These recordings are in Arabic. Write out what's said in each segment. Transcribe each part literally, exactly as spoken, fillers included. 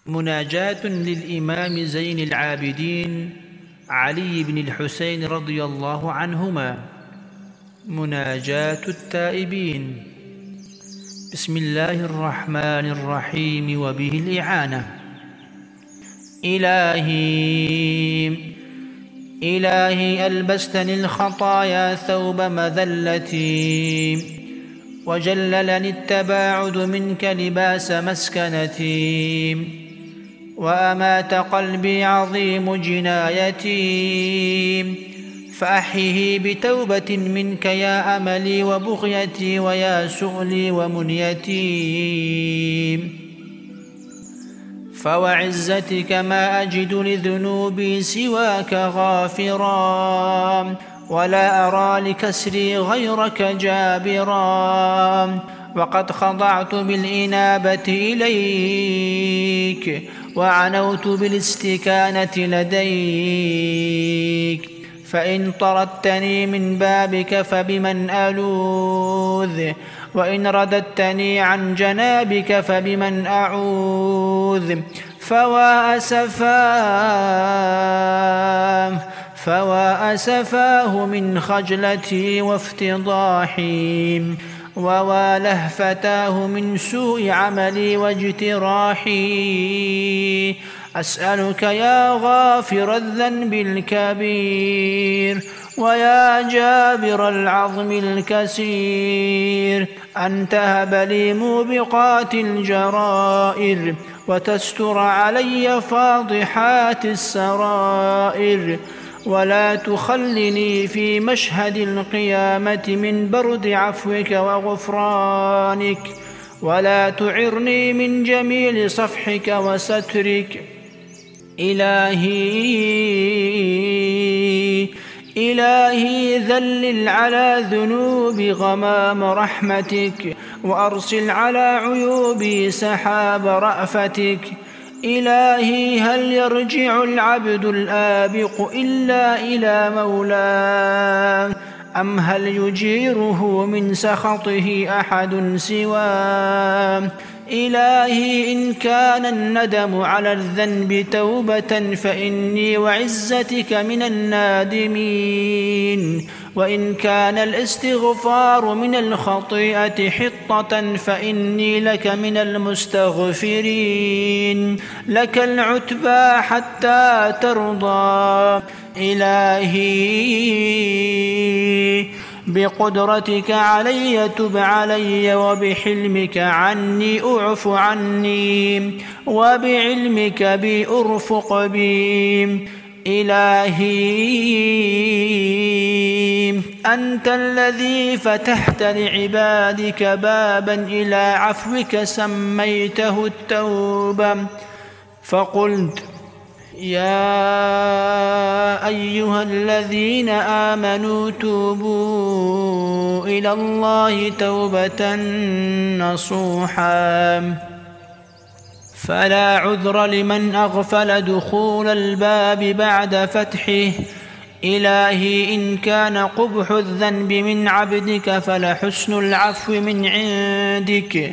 مناجاة للإمام زين العابدين علي بن الحسين رضي الله عنهما. مناجاة التائبين. بسم الله الرحمن الرحيم وبه الإعانة. إلهي إلهي ألبستني الخطايا ثوب مذلتي، وجللني التباعد منك لباس مسكنتي، وأمات قلبي عظيم جنايتي، فأحيه بتوبة منك يا أملي وبغيتي ويا سؤلي ومنيتي. فوعزتك ما أجد لذنوبي سواك غافرا، ولا أرى لكسري غيرك جابرا، وقد خضعت بالإنابة إليك، وعنوت بالاستكانة لديك. فإن طردتني من بابك فبمن ألوذ، وإن رددتني عن جنابك فبمن أعوذ. فوا أسفاه فوا أسفاه من خجلتي وافتضاحي، ووا لهفتاه من سوء عملي واجتراحي. أسألك يا غافر الذنب الكبير، ويا جابر العظم الكسير، أن تهب لي موبقات الجرائر، وتستر علي فاضحات السرائر، ولا تخلني في مشهد القيامة من برد عفوك وغفرانك، ولا تعرني من جميل صفحك وسترك. إلهي إلهي ذلل على ذنوبي غمام رحمتك، وأرسل على عيوبي سحاب رأفتك. إلهي هل يرجع العبد الآبق إلا إلى مولاه، أم هل يجيره من سخطه أحد سواه؟ إلهي إن كان الندم على الذنب توبة فإني وعزتك من النادمين، وإن كان الاستغفار من الخطيئة حطة فإني لك من المستغفرين. لك العتبى حتى ترضى. إلهي بقدرتك علي تب علي، وبحلمك عني أعف عني، وبعلمك بي أرفق بي. إلهي أنت الذي فتحت لعبادك بابا إلى عفوك سميته التوبة، فقلت يا أيها الذين آمنوا توبوا إلى الله توبة نصوحا. فلا عذر لمن أغفل دخول الباب بعد فتحه. إلهي إن كان قبح الذنب من عبدك فلحسن العفو من عندك.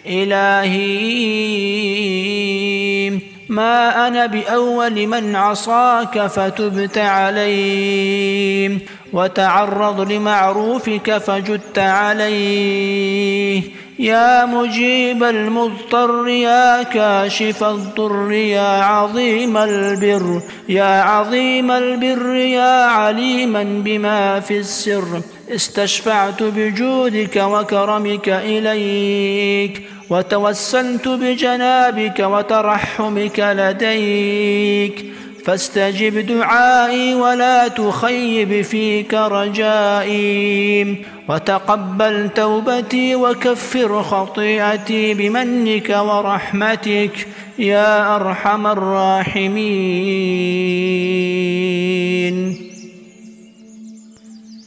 إلهي ما أنا بأول من عصاك فتبت عليه، وتعرض لمعروفك فجدت عليه. يا مجيب المضطر يا كاشف الضر يا عظيم البر يا عظيم البر يا عليما بما في السر، استشفعت بجودك وكرمك إليك، وتوسلت بجنابك وترحمك لديك، فاستجب دعائي ولا تخيب فيك رجائي، وتقبل توبتي وكفر خطيئتي بمنك ورحمتك يا أرحم الراحمين.